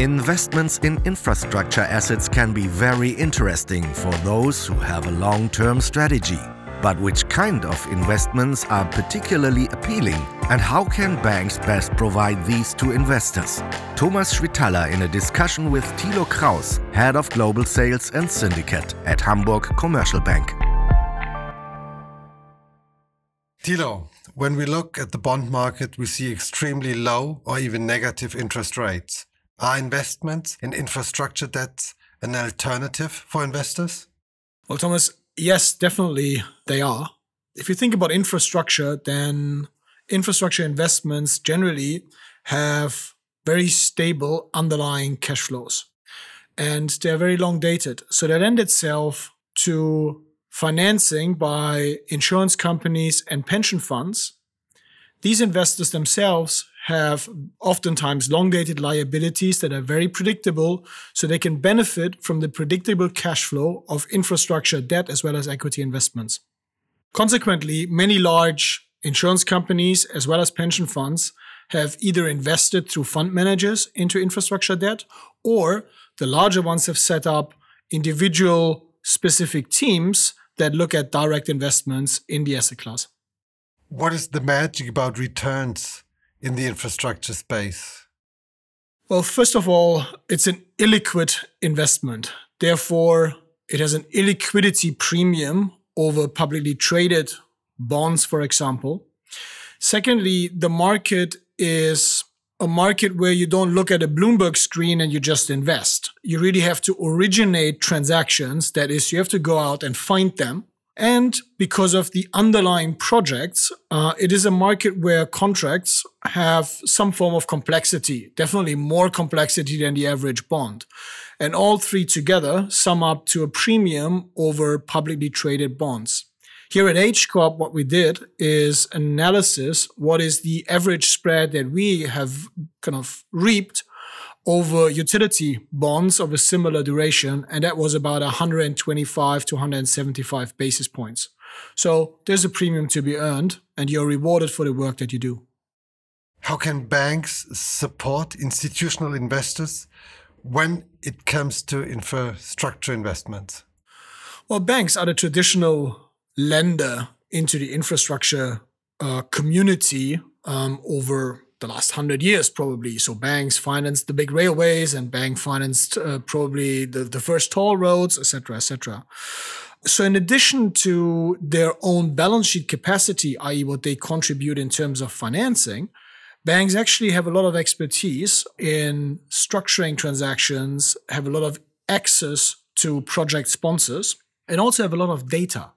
Investments in infrastructure assets can be very interesting for those who have a long-term strategy. But which kind of investments are particularly appealing, and how can banks best provide these to investors? Thomas Schwitaler in a discussion with Thilo Kraus, Head of Global Sales and Syndicate at Hamburg Commercial Bank. Thilo, when we look at the bond market, we see extremely low or even negative interest rates. Are investments in infrastructure debt an alternative for investors? Well, Thomas, yes, definitely they are. If you think about infrastructure, then infrastructure investments generally have very stable underlying cash flows. And they're very long dated. So that lends itself to financing by insurance companies and pension funds. These investors themselves have oftentimes long-dated liabilities that are very predictable, so they can benefit from the predictable cash flow of infrastructure debt as well as equity investments. Consequently, many large insurance companies as well as pension funds have either invested through fund managers into infrastructure debt, or the larger ones have set up individual specific teams that look at direct investments in the asset class. What is the magic about returns in the infrastructure space? Well, first of all, it's an illiquid investment. Therefore, it has an illiquidity premium over publicly traded bonds, for example. Secondly, the market is a market where you don't look at a Bloomberg screen and you just invest. You really have to originate transactions. That is, you have to go out and find them. And because of the underlying projects, it is a market where contracts have some form of complexity, definitely more complexity than the average bond. And all three together sum up to a premium over publicly traded bonds. Here at H Corp, what we did is analysis. What is the average spread that we have kind of reaped over utility bonds of a similar duration, and that was about 125 to 175 basis points. So there's a premium to be earned, and you're rewarded for the work that you do. How can banks support institutional investors when it comes to infrastructure investments? Well, banks are the traditional lender into the infrastructure community over the last 100 years, probably. So banks financed the big railways, and bank financed probably the first toll roads, etc., etc. So in addition to their own balance sheet capacity, i.e. what they contribute in terms of financing, banks actually have a lot of expertise in structuring transactions, have a lot of access to project sponsors, and also have a lot of data.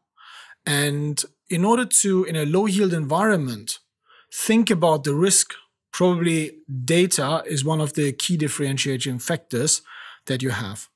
And in order to, in a low-yield environment, think about the risk, probably data is one of the key differentiating factors that you have.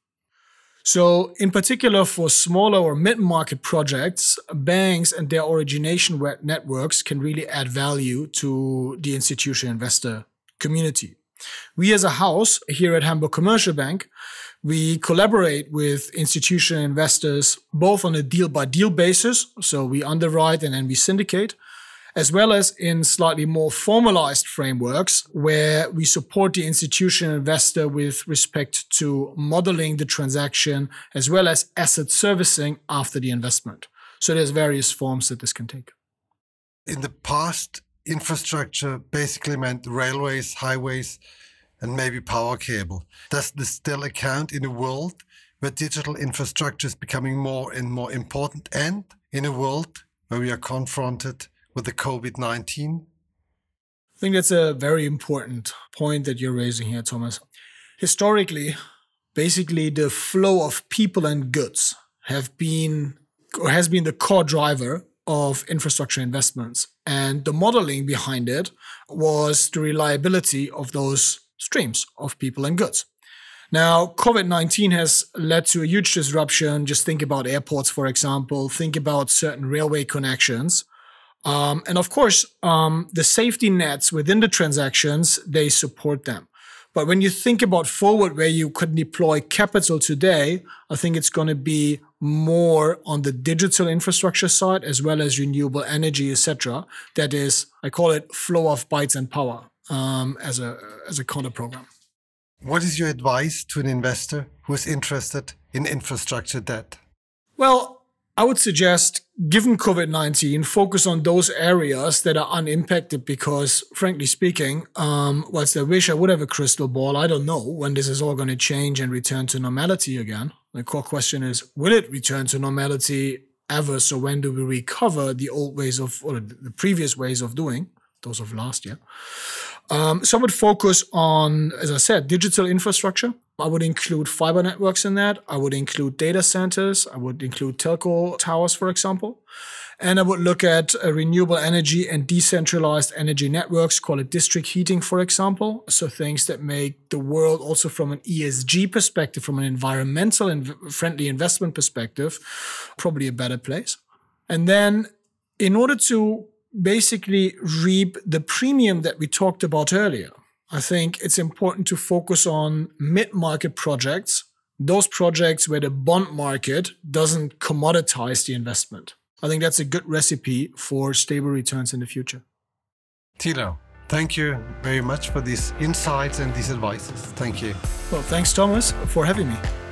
So in particular for smaller or mid-market projects, banks and their origination networks can really add value to the institutional investor community. We as a house here at Hamburg Commercial Bank, we collaborate with institutional investors both on a deal-by-deal basis, so we underwrite and then we syndicate, as well as in slightly more formalized frameworks where we support the institutional investor with respect to modeling the transaction as well as asset servicing after the investment. So there's various forms that this can take. In the past, infrastructure basically meant railways, highways, and maybe power cable. Does this still account in a world where digital infrastructure is becoming more and more important, and in a world where we are confronted with the COVID-19? I think that's a very important point that you're raising here, Thomas. Historically, basically the flow of people and goods has been the core driver of infrastructure investments. And the modeling behind it was the reliability of those streams of people and goods. Now, COVID-19 has led to a huge disruption. Just think about airports, for example. Think about certain railway connections. And of course, the safety nets within the transactions, they support them. But when you think about forward where you could deploy capital today, I think it's going to be more on the digital infrastructure side as well as renewable energy, etc. That is, I call it flow of bytes and power as a counter program. What is your advice to an investor who is interested in infrastructure debt? Well, I would suggest, given COVID-19, focus on those areas that are unimpacted because, frankly speaking, whilst I wish I would have a crystal ball, I don't know when this is all going to change and return to normality again. The core question is, will it return to normality ever? So when do we recover the old ways of, or the previous ways of doing, those of last year? So I would focus on, as I said, digital infrastructure. I would include fiber networks in that. I would include data centers. I would include telco towers, for example. And I would look at renewable energy and decentralized energy networks, call it district heating, for example. So things that make the world also from an ESG perspective, from an environmental and friendly investment perspective, probably a better place. And then in order to basically reap the premium that we talked about earlier, I think it's important to focus on mid-market projects, those projects where the bond market doesn't commoditize the investment. I think that's a good recipe for stable returns in the future. Thilo, thank you very much for these insights and these advices. Thank you. Well, thanks, Thomas, for having me.